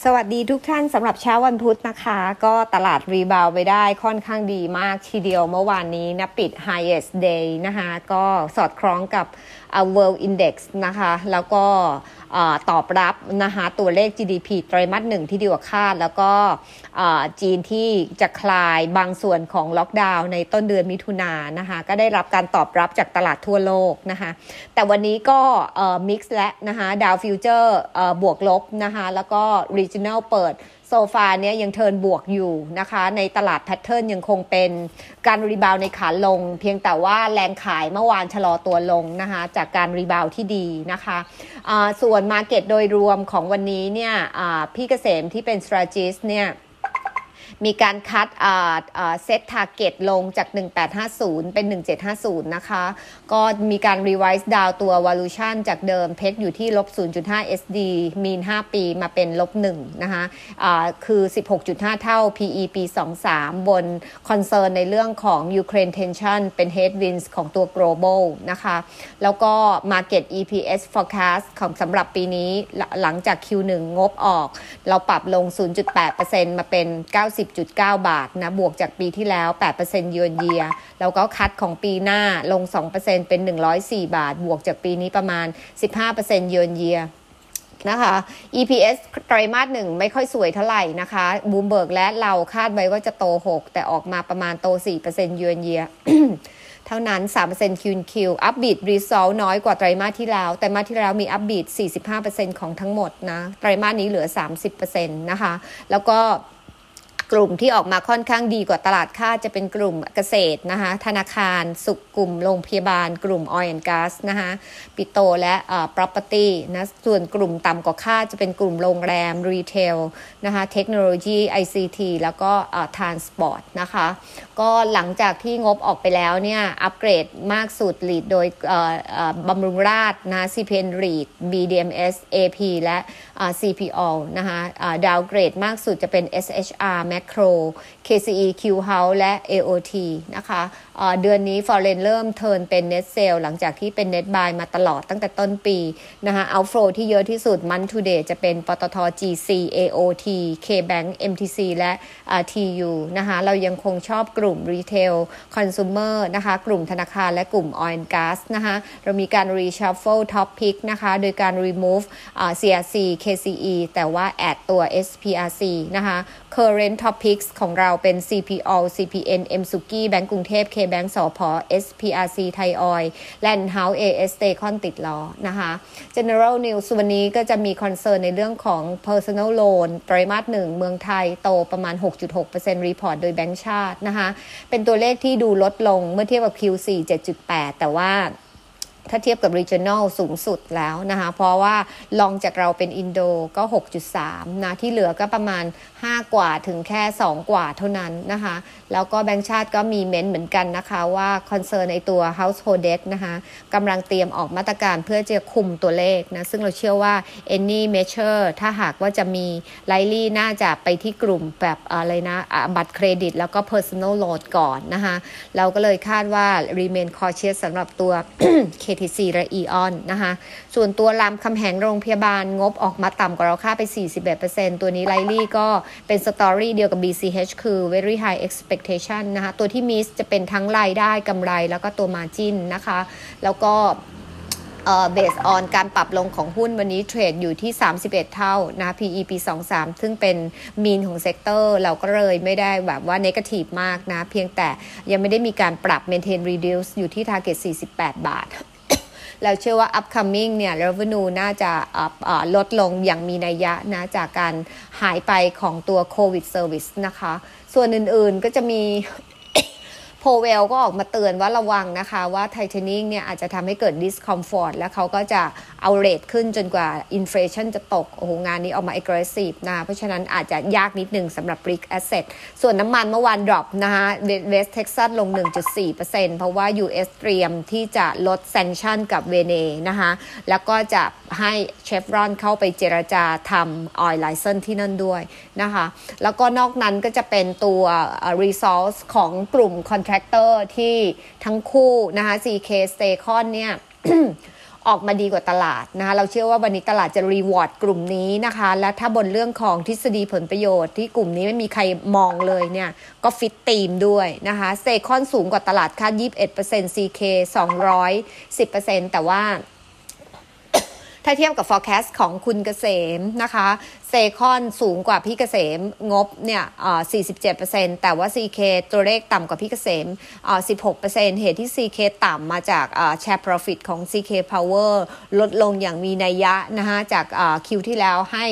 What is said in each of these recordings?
สวัสดีทุกท่านสำหรับเช้าวันพุธนะคะก็ตลาดรีบาวไปได้ค่อนข้างดีมากทีเดียวเมื่อวานนี้นะปิด highest day นะคะก็สอดคล้องกับWorld Index นะคะแล้วก็ตอบรับนะคะตัวเลข GDP ไตรมาส1ที่ดีกว่าคาดแล้วก็จีนที่จะคลายบางส่วนของล็อกดาวน์ในต้นเดือนมิถุนายนนะคะก็ได้รับการตอบรับจากตลาดทั่วโลกนะคะแต่วันนี้ก็มิกซ์และนะคะดาวฟิวเจอร์บวกลบนะคะแล้วก็ Regional เปิดโซฟาเนี่ยยังเทิร์นบวกอยู่นะคะในตลาดแพทเทิร์นยังคงเป็นการรีบาวในขาลงเพียงแต่ว่าแรงขายเมื่อวานชะลอตัวลงนะคะจากการรีบาวที่ดีนะคะส่วนมาร์เก็ตโดยรวมของวันนี้เนี่ยพี่เกษมที่เป็น strategist เนี่ยมีการคัดเซตทาร์เก็ตลงจาก1850เป็น1750นะคะก็มีการ revise down ตัว valuation จากเดิมเพกอยู่ที่ -0.5 SD mean 5 ปีมาเป็น -1 นะคะคือ 16.5 เท่า PE ปี 23 บน concern ในเรื่องของ Ukraine tension เป็น headwinds ของตัว global นะคะแล้วก็ market EPS forecast ของสำหรับปีนี้หลังจาก Q1 งบออกเราปรับลง 0.8% มาเป็น90.9 บาทนะบวกจากปีที่แล้ว 8% year on year แล้วก็คัดของปีหน้าลง 2% เป็น104 บาทบวกจากปีนี้ประมาณ 15% year on year นะคะ EPS ไตรมาส1ไม่ค่อยสวยเท่าไหร่นะคะบูมเบิร์กและเราคาดไว้ว่าจะโต 6 แต่ออกมาประมาณโต 4% year on year เท่านั้น 3% Q&Q อัพบีทรีซอลน้อยกว่าไตรมาสที่แล้วแต่มาสที่แล้วมีอัพบีท 45% ของทั้งหมดนะไตรมาสนี้เหลือ 30% นะคะแล้วก็กลุ่มที่ออกมาค่อนข้างดีกว่าตลาดคาดจะเป็นกลุ่มเกษตรนะคะธนาคารสุขกลุ่มโรงพยาบาลกลุ่ม Oil and Gas นะคะปิโตและproperty นะส่วนกลุ่มต่ำกว่าคาดจะเป็นกลุ่มโรงแรม retail นะคะเทคโนโลยี ICT แล้วก็transport นะคะก็หลังจากที่งบออกไปแล้วเนี่ยอัปเกรดมากสุด lead โดยบำรุงราษฎร์นะ CPN lead BDMs AP และ CPO นะคะดาวเกรดมากสุดจะเป็น SHR Macro KCE Q House และ AOT นะคะเดือนนี้ Foreign เริ่มเทิร์นเป็น Net Sale หลังจากที่เป็น Net Buy มาตลอดตั้งแต่ต้นปีนะคะ Outflow ที่เยอะที่สุด Month to Date จะเป็นปตท GC AOT KBank MTC และ TU นะคะเรายังคงชอบกลุ่ม Retail Consumer นะคะกลุ่มธนาคารและกลุ่ม Oil and Gas นะคะเรามีการ Reshuffle Top Pick นะคะโดยการ Remove CRC KCE แต่ว่า add ตัว SPRC นะคะ Current Top Picks ของเราเป็น CPO CPN MSUKI แบงก์กรุงเทพ KBank สผ SPRC ไทยออยล์ Land House AS Staycon ติดล้อนะคะ General News วันนี้ก็จะมีคอนเซิร์นในเรื่องของ Personal Loan ไตรมาส1เมืองไทยโตประมาณ 6.6% Report โดยแบงก์ชาตินะคะเป็นตัวเลขที่ดูลดลงเมื่อเทียบกับ Q4 7.8 แต่ว่าถ้าเทียบกับ regional สูงสุดแล้วนะคะเพราะว่าลองจากเราเป็นอินโดก็ 6.3 นะที่เหลือก็ประมาณ5กว่าถึงแค่2กว่าเท่านั้นนะคะแล้วก็แบงก์ชาติก็มีเม้นเหมือนกันนะคะว่าคอนเซิร์นในตัว household debt นะคะกำลังเตรียมออกมาตรการเพื่อจะคุมตัวเลขนะซึ่งเราเชื่อว่า any measure ถ้าหากว่าจะมี likely น่าจะไปที่กลุ่มแบบอะไรนะบัตรเครดิตแล้วก็ personal loan ก่อนนะคะเราก็เลยคาดว่า remain cautious สำหรับตัว KTC และ Eon นะคะส่วนตัวรามคำแหงโรงพยาบาลงบออกมาต่ำกว่าเราคาดไป 41% ตัวนี้ likely ก็เป็นสตอรี่เดียวกับ BCH คือ very high expectation นะคะตัวที่ miss จะเป็นทั้งรายได้กำไรแล้วก็ตัว margin นะคะแล้วก็based on การปรับลงของหุ้นวันนี้เทรดอยู่ที่31เท่านะ PE ปี23ซึ่งเป็น mean ของเซกเตอร์เราก็เลยไม่ได้แบบว่า negative มากนะเพียงแต่ยังไม่ได้มีการปรับ maintain reduce อยู่ที่ target 48 บาทแล้วเชื่อว่า upcoming เนี่ย revenue น่าจะลดลงอย่างมีนัยยะนะจากการหายไปของตัว COVID service นะคะส่วนอื่นๆก็จะมีโพเวลก็ออกมาเตือนว่าระวังนะคะว่าไทเทเนียมเนี่ยอาจจะทำให้เกิด discomfort แล้วเขาก็จะเอาเรทขึ้นจนกว่า inflation จะตกโอ้โหงานนี้ออกมา aggressive นะเพราะฉะนั้นอาจจะยากนิดนึงสำหรับ brick asset ส่วนน้ำมันเมื่อวาน drop นะคะ West Texas ลง 1.4% เพราะว่า US เตรียมที่จะลด sanction กับเวเนนะคะแล้วก็จะให้เชฟรอนเข้าไปเจรจาทำ oil license ที่นั่นด้วยนะคะแล้วก็นอกนั้นก็จะเป็นตัว resource ของกลุ่ม contractor ที่ทั้งคู่นะคะ CK Staycon เนี่ยออกมาดีกว่าตลาดนะคะเราเชื่อว่าวันนี้ตลาดจะรีวอร์ดกลุ่มนี้นะคะและถ้าบนเรื่องของทฤษฎีผลประโยชน์ที่กลุ่มนี้ไม่มีใครมองเลยเนี่ยก็ฟิตธีมด้วยนะคะเซคอนสูงกว่าตลาดคาด 21% CK 210%แต่ว่าถ้าเทียบกับ forecast ของคุณเกษมนะคะเซคอนสูงกว่าพี่เกษมงบเนี่ย47%แต่ว่า CK ตัวเลขต่ำกว่าพี่เกษม16%เหตุที่ CK ต่ำมาจากshare profit ของ CK Power ลดลงอย่างมีนัยยะนะคะจากคิวที่แล้วให้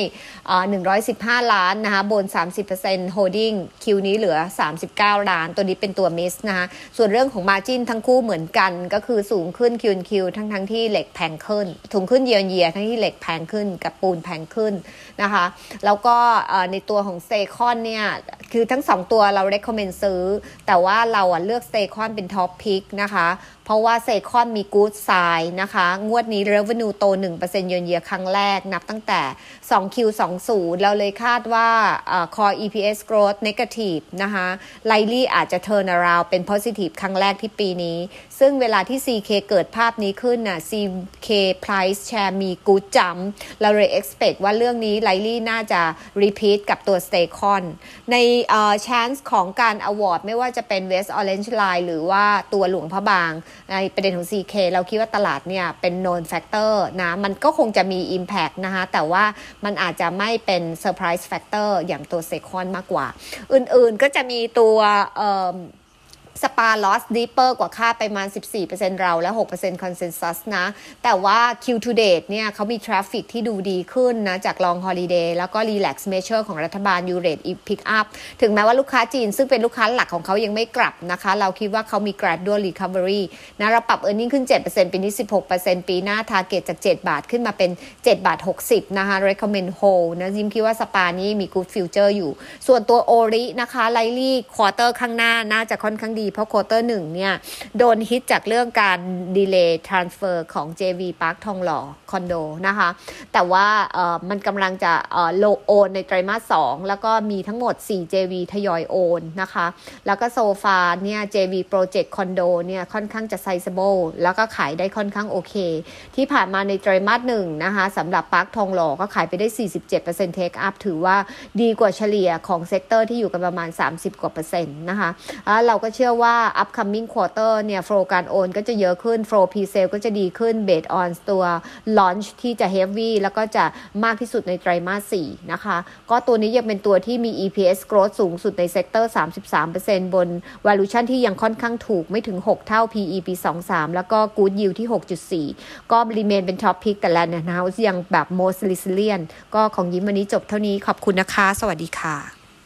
115 ล้านนะคะบน 30% holding คิวนี้เหลือ39 ล้านตัวนี้เป็นตัว miss นะคะส่วนเรื่องของ margin ทั้งคู่เหมือนกันก็คือสูงขึ้น Q&Q ทั้งที่เหล็กแพงขึ้นสูงขึ้น year ทั้งที่เหล็กแพงขึ้นกับปูนแพงขึ้นนะคะแล้วก็ในตัวของเซคอนเนี่ยคือทั้ง2ตัวเรา recommend ซื้อแต่ว่าเราเลือกเซคอนเป็น top pick นะคะเพราะว่าเซคอนมี good sign นะคะงวดนี้ revenue โต 1% year ครั้งแรกนับตั้งแต่ 2Q20 เราเลยคาดว่าcore EPS growth negative นะคะ likely อาจจะ turn around เป็น positive ครั้งแรกที่ปีนี้ซึ่งเวลาที่ CK เกิดภาพนี้ขึ้นน่ะ CK price share มี good jump เราเลย expect ว่าเรื่องนี้ likely น่าจะ repeat กับตัว Staycon ในchance ของการ award ไม่ว่าจะเป็น West Orange Line หรือว่าตัวหลวงพระบางในประเด็นของ CK เราคิดว่าตลาดเนี่ยเป็น known factor นะมันก็คงจะมี impact นะคะแต่ว่ามันอาจจะไม่เป็น surprise factor อย่างตัว Staycon มากกว่าอื่นๆก็จะมีตัวสปาลอสดีเปอร์กว่าค่าไปประมาณ 14% เราและ 6% consensus นะแต่ว่า Q to date เนี่ยเขามีทราฟฟิกที่ดูดีขึ้นนะจาก long holiday แล้วก็ relax measure ของรัฐบาล ยูเรท pick up ถึงแม้ว่าลูกค้าจีนซึ่งเป็นลูกค้าหลักของเขายังไม่กลับนะคะเราคิดว่าเขามี gradual recovery นะเราปรับ earning ขึ้น 7% ปีนี้ 16% ปีหน้า target จาก7 บาทขึ้นมาเป็น7 บาท 60นะคะ recommend hold นะยิมคิดว่าสปานี้มี good future อยู่ส่วนตัวโอรินะคะ likely quarter ข้างหน้าน่าจะค่อนข้างดีเพราะควอเตอร์1เนี่ยโดนฮิตจากเรื่องการ delay transfer ของ JV Park ทองหล่อคอนโดนะคะแต่ว่ามันกำลังจะโอนในไตรมาส2แล้วก็มีทั้งหมด4 JV ทยอยโอนนะคะแล้วก็โซฟาเนี่ย JV Project คอนโดเนี่ยค่อนข้างจะ sizable แล้วก็ขายได้ค่อนข้างโอเคที่ผ่านมาในไตรมาส1นะคะสำหรับ Park ทองหล่อก็ขายไปได้ 47% take up ถือว่าดีกว่าเฉลี่ยของเซกเตอร์ที่อยู่กันประมาณ30 กว่า%นะคะเราก็เชื่อว่า upcoming quarter เนี่ย flow การโอนก็จะเยอะขึ้น flow pre-sale ก็จะดีขึ้น based on ตัว launch ที่จะ heavy แล้วก็จะมากที่สุดในไตรมาส4นะคะก็ตัวนี้ยังเป็นตัวที่มี EPS growth สูงสุดในเซกเตอร์ 33% บน valuation ที่ยังค่อนข้างถูกไม่ถึง6เท่า PE ปี23แล้วก็ good yield ที่ 6.4 ก็ remain เป็น top pick แต่ละเนี่ยนะยังแบบ most resilient ก็ของยิ้มวันนี้จบเท่านี้ขอบคุณนะคะสวัสดีค่ะ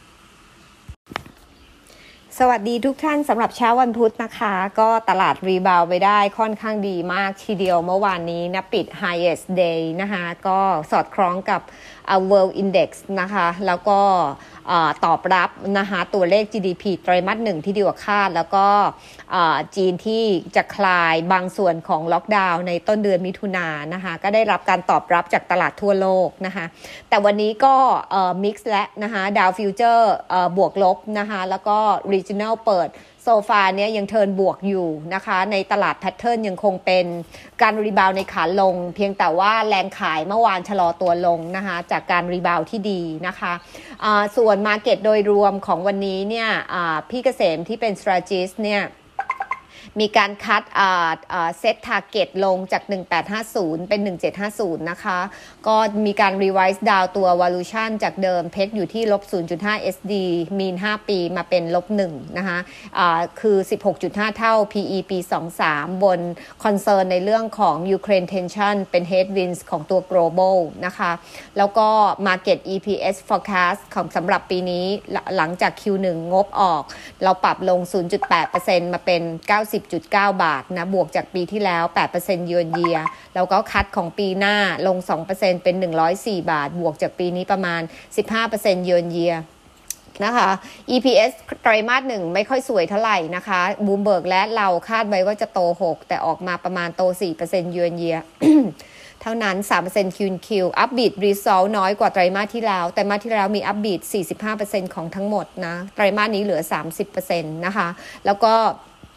สวัสดีทุกท่านสำหรับเช้าวันพุธนะคะก็ตลาดรีบาวไปได้ค่อนข้างดีมากทีเดียวเมื่อวานนี้นะปิด highest day นะคะก็สอดคล้องกับWorld Index นะคะแล้วก็ตอบรับนะคะตัวเลข GDP ไตรมาส1ที่ดีกว่าคาดแล้วก็จีนที่จะคลายบางส่วนของล็อกดาวน์ในต้นเดือนมิถุนายนนะคะก็ได้รับการตอบรับจากตลาดทั่วโลกนะคะแต่วันนี้ก็มิกซ์และนะคะดาวฟิวเจอร์บวกลบนะคะแล้วก็ regional เปิดโซฟาเนี่ยยังเทิร์นบวกอยู่นะคะในตลาดแพทเทิร์นยังคงเป็นการรีบาวในขาลงเพียงแต่ว่าแรงขายเมื่อวานชะลอตัวลงนะคะจากการรีบาวที่ดีนะคะส่วนมาร์เก็ตโดยรวมของวันนี้เนี่ยพี่เกษมที่เป็น strategist เนี่ยมีการคัดเซตทาร์เก็ตลงจาก1850เป็น1750นะคะก็มีการ revise down ตัว valuation จากเดิมเพกอยู่ที่ -0.5 SD mean 5 ปีมาเป็น-1นะคะคือ 16.5 เท่า PE ปี23บน concern ในเรื่องของ Ukraine tension เป็น headwinds ของตัว global นะคะแล้วก็ market EPS forecast ของสำหรับปีนี้หลังจาก Q1 งบออกเราปรับลง 0.8% มาเป็น90.9 บาทนะบวกจากปีที่แล้ว 8% year-on-year แล้วก็คัดของปีหน้าลง 2% เป็น104 บาทบวกจากปีนี้ประมาณ 15% year-on-year นะคะ EPS ไตรมาส1ไม่ค่อยสวยเท่าไหร่นะคะบูมเบิร์กและเราคาดไว้ว่าจะโต6แต่ออกมาประมาณโต 4% year-on-year เท่านั้น 3% Q&Q อัพบีทรีซอลน้อยกว่าไตรมาสที่แล้วแต่มาสที่แล้วมีอัพบีท 45% ของทั้งหมดนะไตรมาสนี้เหลือ 30% นะคะแล้วก็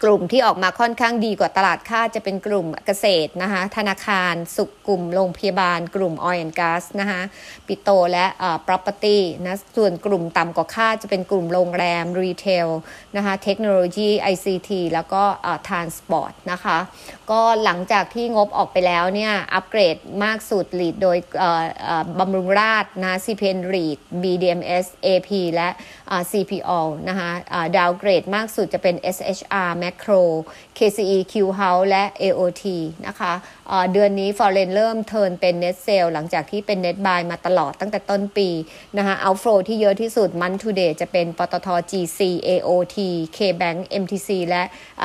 กลุ่มที่ออกมาค่อนข้างดีกว่าตลาดคาดจะเป็นกลุ่มเกษตรนะคะธนาคารสุขกลุ่มโรงพยาบาลกลุ่ม Oil and Gas นะคะปิโตรและproperty นะส่วนกลุ่มต่ำกว่าคาดจะเป็นกลุ่มโรงแรม retail นะคะเทคโนโลยี ICT แล้วก็transport นะคะก็หลังจากที่งบออกไปแล้วเนี่ยอัปเกรดมากสุด lead โดยบำรุงราษฎร์นะ CPN REIT BDMs AP และ CPO นะคะดาวเกรดมากสุดจะเป็น SHR Macro KCE Q House และ AOT นะคะเดือนนี้ Foreign เริ่มเทิร์นเป็น Net Sale หลังจากที่เป็น Net Buy มาตลอดตั้งแต่ต้นปีนะคะ Outflow ที่เยอะที่สุด Month to Date จะเป็นปตท GC AOT KBank MTC และ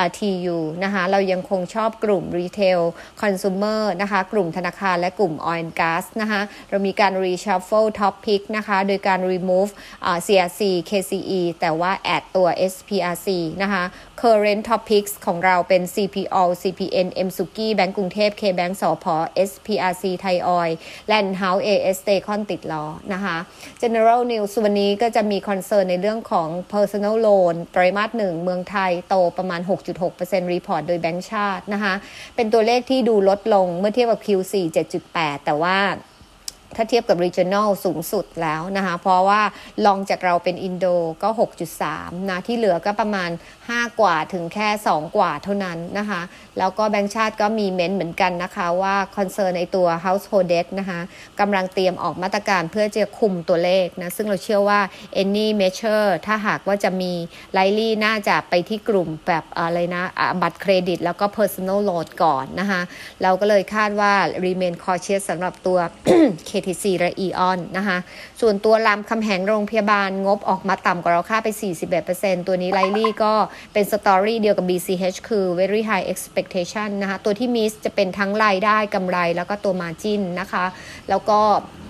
TU นะคะเรายังคงชอบกลุ่ม Retail Consumer นะคะกลุ่มธนาคารและกลุ่ม Oil and Gas นะคะเรามีการ Reshuffle Top Pick นะคะโดยการ Remove CRC KCE แต่ว่า add ตัว SPRC นะคะ Current Top Picks ของเราเป็น CPO CPN MSUKI แบงก์กรุงเทพ KBank สผ SPRC ไทยออยล์ Land House AS Staycon ติดล้อนะคะ General News วันนี้ก็จะมีคอนเซิร์นในเรื่องของ Personal Loan ไตรมาส 1เมืองไทยโตประมาณ 6.6% Report โดยแบงก์ชาตินะคะเป็นตัวเลขที่ดูลดลงเมื่อเทียบกับ Q4 7.8 แต่ว่าถ้าเทียบกับ regional สูงสุดแล้วนะคะเพราะว่าลองจากเราเป็นอินโดก็ 6.3 นะที่เหลือก็ประมาณ5กว่าถึงแค่2กว่าเท่านั้นนะคะแล้วก็แบงก์ชาติก็มีเม้นเหมือนกันนะคะว่าคอนเซิร์นในตัว household debt นะคะกำลังเตรียมออกมาตรการเพื่อจะคุมตัวเลขนะซึ่งเราเชื่อว่า any measure ถ้าหากว่าจะมี likely น่าจะไปที่กลุ่มแบบอะไรนะบัตรเครดิตแล้วก็ personal loan ก่อนนะคะเราก็เลยคาดว่า remain cautious สำหรับตัว KTC และ Eon นะคะส่วนตัวรามคำแหงโรงพยาบาลงบออกมาต่ำกว่าเราคาดไป 41% ตัวนี้ likely ก็เป็นสตอรี่เดียวกับ BCH คือ very high expectation นะคะตัวที่มิสจะเป็นทั้งรายได้กำไรแล้วก็ตัว margin นะคะแล้วก็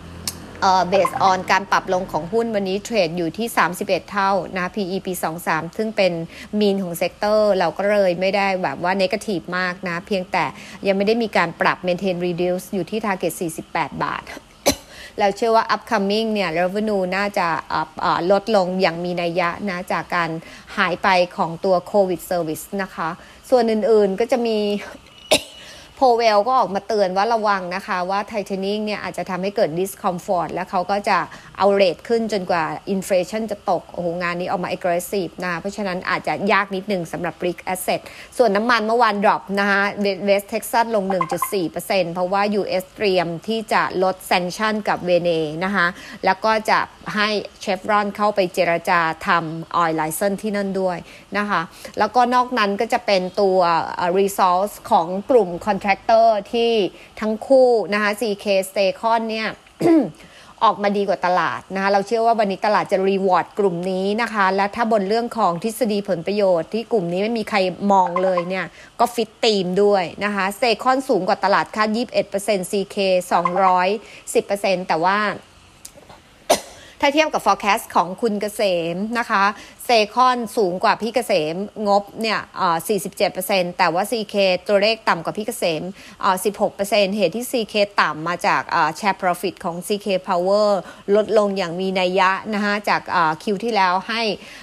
based on การปรับลงของหุ้นวันนี้เทรดอยู่ที่31เท่านะ PE ปี23ซึ่งเป็นมีนของเซกเตอร์เราก็เลยไม่ได้แบบว่า negative มากนะเพียงแต่ยังไม่ได้มีการปรับ maintain reduce อยู่ที่ target 48 บาทเราเชื่อว่า upcoming เนี่ย revenue น่าจะลดลงอย่างมีนัยยะนะจากการหายไปของตัว COVID service นะคะส่วนอื่นๆก็จะมีโพเวลก็ออกมาเตือนว่าระวังนะคะว่าไทเทเนียมเนี่ยอาจจะทำให้เกิด discomfort แล้วเขาก็จะเอาเรทขึ้นจนกว่า inflation จะตกโอ้โหงานนี้ออกมา aggressive นะเพราะฉะนั้นอาจจะยากนิดนึงสำหรับ brick asset ส่วนน้ำมันเมื่อวาน drop นะคะเวสต์เท็กซัสลง 1.4% เพราะว่า US เตรียมที่จะลด sanction กับเวเนนะคะแล้วก็จะให้เชฟรอนเข้าไปเจรจาทำ oil license ที่นั่นด้วยนะคะแล้วก็นอกนั้นก็จะเป็นตัว resource ของกลุ่ม contractor ที่ทั้งคู่นะคะ CK Staycon เนี่ย ออกมาดีกว่าตลาดนะคะเราเชื่อว่าวันนี้ตลาดจะ reward กลุ่มนี้นะคะและถ้าบนเรื่องของทฤษฎีผลประโยชน์ที่กลุ่มนี้ไม่มีใครมองเลยเนี่ยก็ฟิตทีมด้วยนะคะ Staycon สูงกว่าตลาดคาด 21% CK 210% แต่ว่าถ้าเทียบกับ forecast ของคุณเกษมนะคะเซคอนสูงกว่าพี่เกษมงบเนี่ย47%แต่ว่า CK ตัวเลขต่ำกว่าพี่เกษม16% เหตุที่ CK ต่ำมาจากshare profit ของ CK Power ลดลงอย่างมีนัยยะนะคะจากคิวที่แล้วให้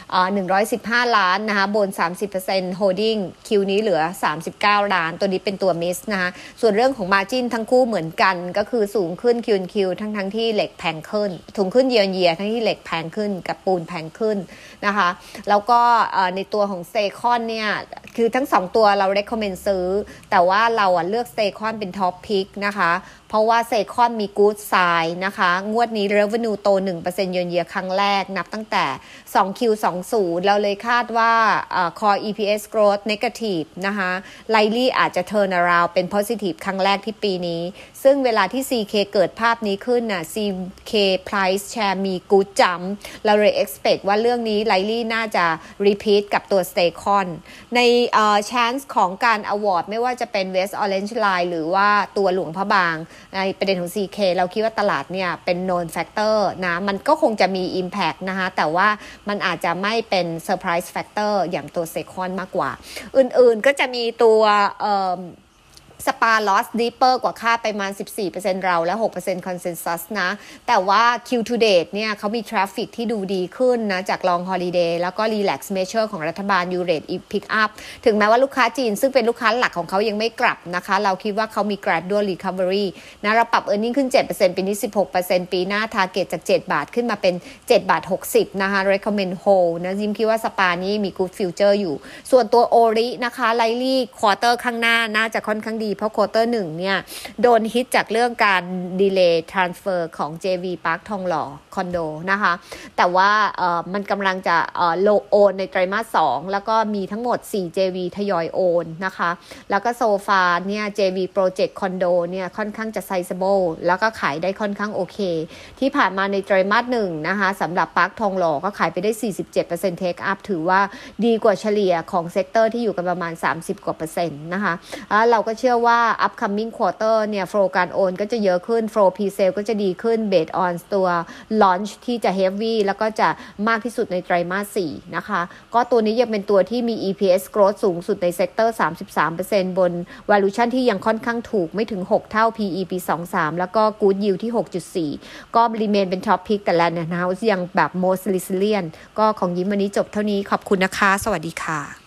115ล้านนะคะบน 30% holding คิวนี้เหลือ39ล้านตัวนี้เป็นตัว miss นะคะส่วนเรื่องของ margin ทั้งคู่เหมือนกันก็คือสูงขึ้น Q&Q ทั้งที่เหล็กแพงขึ้นสูงขึ้น year ทั้งที่เหล็กแพงขึ้นกับปูนแพงขึ้นนะคะแล้วก็ในตัวของเซคอนเนี่ยคือทั้ง2ตัวเรา recommend ซื้อแต่ว่าเราเลือกเซคอนเป็น top pick นะคะเพราะว่าเซคอนมี good sign นะคะงวดนี้ revenue โต 1% year ครั้งแรกนับตั้งแต่ 2Q20 เราเลยคาดว่าcore EPS growth negative นะคะ likely อาจจะ turn around เป็น positive ครั้งแรกที่ปีนี้ซึ่งเวลาที่ CK เกิดภาพนี้ขึ้นน่ะ CK price share มี good jump เราเลย expect ว่าเรื่องนี้ likely น่าจะ repeat กับตัว Staycon ในchance ของการ award ไม่ว่าจะเป็น West Orange Line หรือว่าตัวหลวงพระบางในประเด็นของ CK เราคิดว่าตลาดเนี่ยเป็น known factor นะมันก็คงจะมี impact นะคะแต่ว่ามันอาจจะไม่เป็น surprise factor อย่างตัว Staycon มากกว่าอื่นๆก็จะมีตัวสปา loss deeper กว่าคาดไปประมาณ 14% เราและ 6% consensus นะ แต่ว่า Q to date เนี่ยเขามี traffic ที่ดูดีขึ้นนะจาก long holiday แล้วก็ relax measure ของรัฐบาล U rate pick up ถึงแม้ว่าลูกค้าจีนซึ่งเป็นลูกค้าหลักของเขายังไม่กลับนะคะ เราคิดว่าเขามี gradual recovery นะเราปรับ earning ขึ้น 7% ปีนี้ 16% ปีหน้า target จาก 7 บาทขึ้นมาเป็น 7 บาท 60 นะคะ recommend hold นะยิมคิดว่าสปานี้มี good future อยู่ส่วนตัวโอรินะคะ likely quarter ข้างหน้าน่าจะค่อนข้างดีเพราะควอเตอร์หนึ่งเนี่ยโดนฮิตจากเรื่องการดีเลย์ทรานสเฟอร์ของ JV Park ทองหล่อคอนโดนะคะแต่ว่ามันกำลังจะโอน ในไตรมาส 2แล้วก็มีทั้งหมด4 JV ทยอยโอนนะคะแล้วก็โซฟาเนี่ย JV Project คอนโดเนี่ยค่อนข้างจะ sizable แล้วก็ขายได้ค่อนข้างโอเคที่ผ่านมาในไตรมาส 1นะคะสำหรับ Park ทองหล่อก็ขายไปได้ 47% take up ถือว่าดีกว่าเฉลี่ยของเซกเตอร์ที่อยู่กันประมาณ30 กว่า%นะคะเราก็เชื่อว่า upcoming quarter เนี่ย flow การโอนก็จะเยอะขึ้น flow pre-sale ก็จะดีขึ้น based on ตัว launch ที่จะ heavy แล้วก็จะมากที่สุดในไตรมาส 4นะคะก็ตัวนี้ยังเป็นตัวที่มี EPS growth สูงสุดในเซกเตอร์ 33% บน valuation ที่ยังค่อนข้างถูกไม่ถึง6เท่า PE ปี 23แล้วก็ good yield ที่ 6.4 ก็ remain เป็น top pick แต่ Land House ยังแบบ most resilient ก็ของยิ้มวันนี้จบเท่านี้ขอบคุณนะคะสวัสดีค่ะ